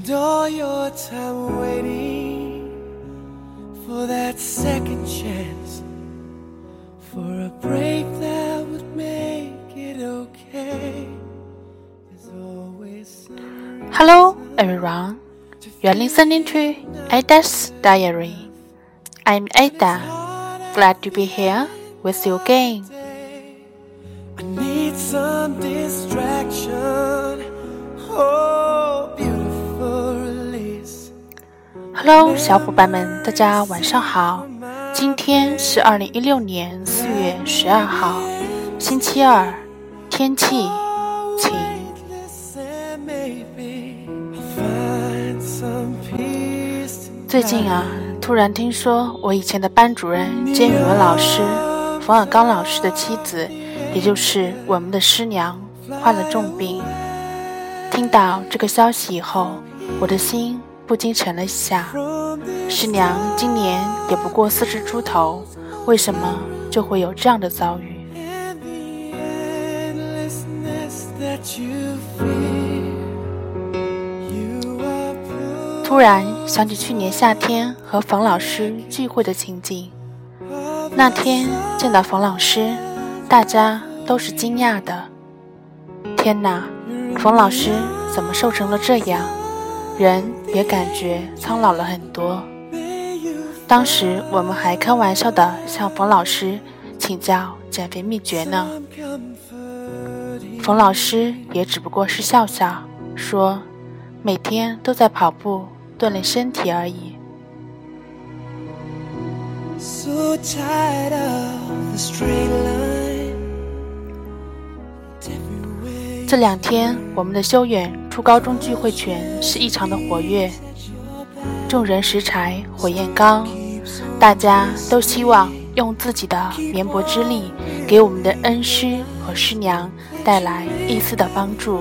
all your time waiting for that second chance, for a break that would make it okay. There's always some Hello everyone, you are listening to Ada's Diary. I'm Ada, glad to be here with you again. I need some distraction. Oh, beautiful release. Hello 小伙伴们，大家晚上好。今天是2016年4月12号，星期二，天气晴。最近突然听说我以前的班主任兼语文老师冯尔刚老师的妻子，也就是我们的师娘，患了重病。听到这个消息以后，我的心不禁沉了一下。师娘今年也不过40出头，为什么就会有这样的遭遇？突然想起去年夏天和冯老师聚会的情景。那天见到冯老师，大家都是惊讶的。天哪，冯老师怎么瘦成了这样？人也感觉苍老了很多。当时我们还开玩笑地向冯老师请教减肥秘诀呢。冯老师也只不过是笑笑，说每天都在跑步锻炼身体而已。 So tired of the straight line. 这2天我们的修远初高中聚会群是异常的活跃，众人拾柴火焰高，大家都希望用自己的绵薄之力给我们的恩师和师娘带来一丝的帮助。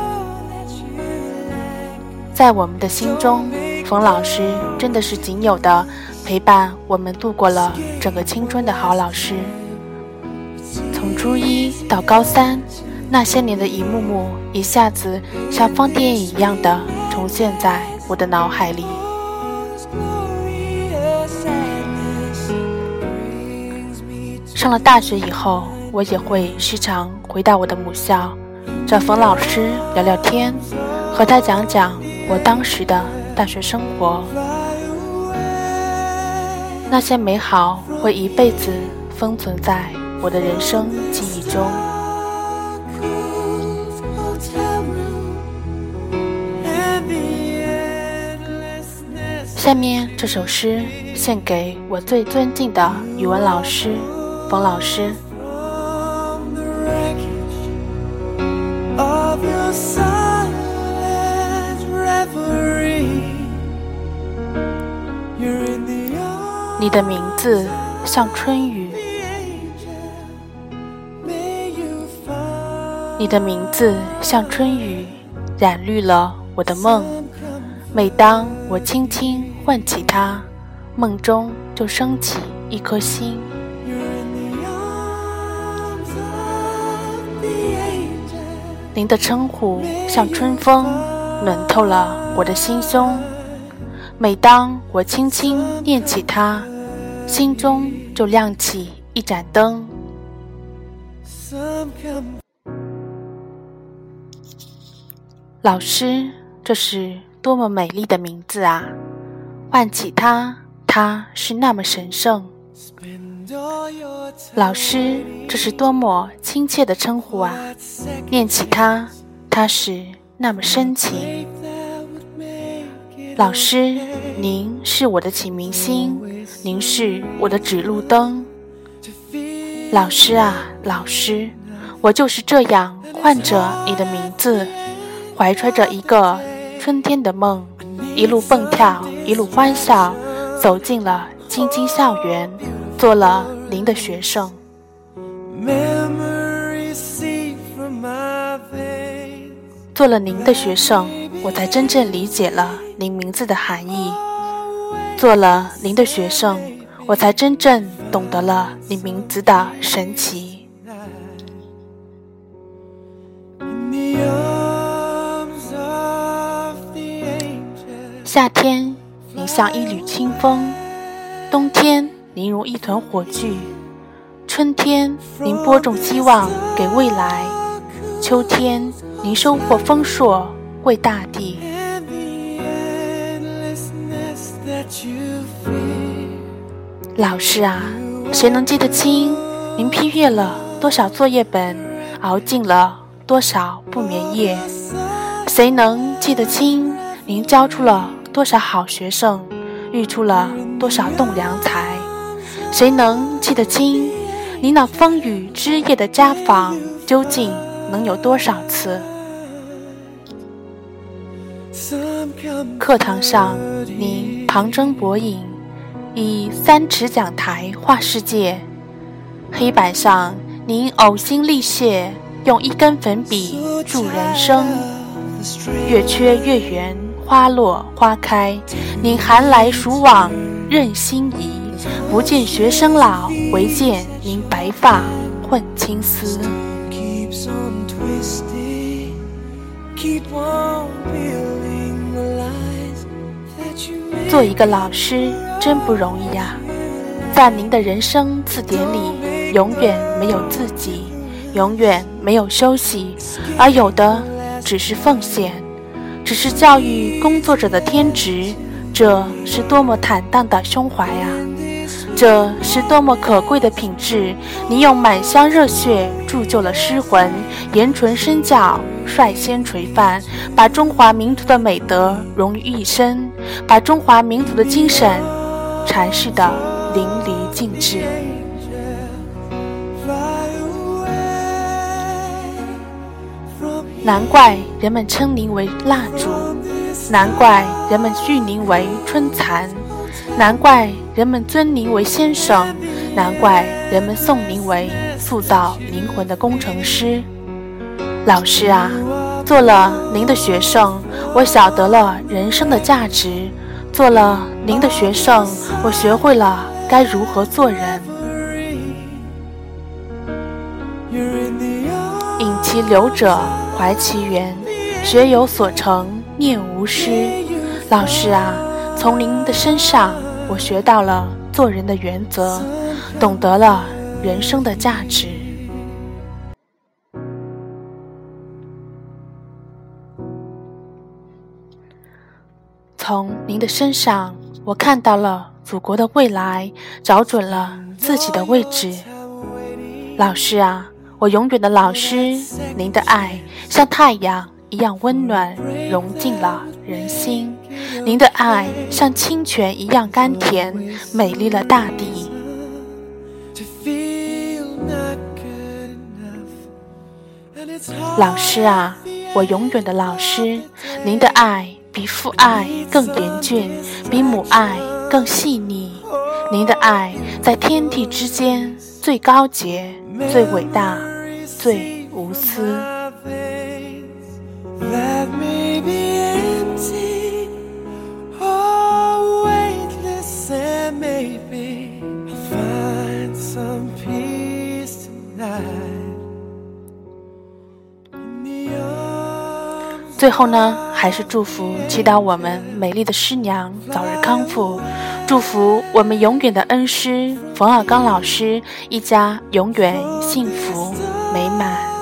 在我们的心中，冯老师真的是仅有的陪伴我们度过了整个青春的好老师。从初1到高3，那些年的一幕幕一下子像放电影一样的重现在我的脑海里。上了大学以后，我也会时常回到我的母校，找冯老师聊聊天，和他讲讲我当时的大学生活。那些美好会一辈子封存在我的人生记忆中。下面这首诗献给我最尊敬的语文老师冯老师。你的名字像春雨，你的名字像春雨，染绿了我的梦。每当我轻轻唤起它，梦中就升起一颗心。您的称呼像春风，暖透了我的心胸。每当我轻轻念起它，心中就亮起一盏灯。老师，这是多么美丽的名字啊！唤起它，它是那么神圣。老师，这是多么亲切的称呼啊！念起它，它是那么深情。老师，您是我的启明星，您是我的指路灯。老师啊，老师，我就是这样唤着你的名字，怀揣着一个春天的梦，一路蹦跳，一路欢笑，走进了京津校园，做了您的学生。做了您的学生，我才真正理解了您名字的含义。做了您的学生，我才真正懂得了你名字的神奇。 夏天，您像一缕清风；冬天，您如一团火炬；春天，您播种希望给未来；秋天，您收获丰硕为大地。老师啊，谁能记得清您批阅了多少作业本，熬尽了多少不眠夜？谁能记得清您教出了多少好学生，育出了多少栋良才？谁能记得清您那风雨之夜的家访究竟能有多少次？课堂上您旁征博引，以3尺讲台画世界；黑板上您呕心沥血，用1根粉笔铸人生。月缺月圆，花落花开，您寒来暑往任心移，不见学生老，唯见您白发混青丝。做一个老师真不容易呀，在您的人生字典里，永远没有自己，永远没有休息，而有的只是奉献，只是教育工作者的天职。这是多么坦荡的胸怀啊！这是多么可贵的品质！你用满腔热血铸就了诗魂，言纯身教，率先垂范，把中华民族的美德融于一身，把中华民族的精神阐释得淋漓尽致。难怪人们称您为蜡烛，难怪人们誉您为春蚕，难怪人们尊您为先生，难怪人们颂您为塑造灵魂的工程师。老师啊，做了您的学生，我晓得了人生的价值；做了您的学生，我学会了该如何做人。引其流者怀其源，学有所成，念无失。老师啊，从您的身上我学到了做人的原则，懂得了人生的价值。从您的身上我看到了祖国的未来，找准了自己的位置。老师啊，我永远的老师，您的爱像太阳一样温暖，融进了人心；您的爱像清泉一样甘甜，美丽了大地。老师啊，我永远的老师，您的爱比父爱更严峻，比母爱更细腻。您的爱在天地之间最高洁，最伟大，最无私。That may be empty or weightless, and maybe I'll find some peace tonight. 最后呢，还是祝福祈祷我们美丽的师娘早日康复，祝福我们永远的恩师冯小刚老师一家永远幸福美满。